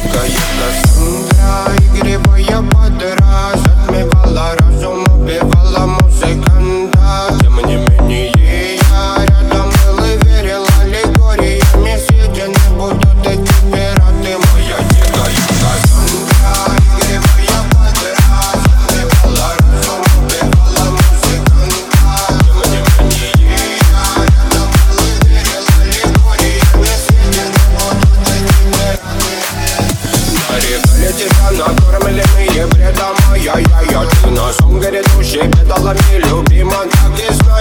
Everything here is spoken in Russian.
дикая Кассандра, игривая подра, затмевала разум, убивала музыканта. Тем не менее я рядом был и верил аллегориями. Съедены будут эти пираты. Моя дикая Кассандра, игривая подра, затмевала разум, убивала музыканта. Тем не менее я рядом был и верил аллегориями. Съедены будут эти пираты. Нарекали тебя накормленные бредом. Ай-яй-яй, ты носом грядущий бедолами любима, так и знай.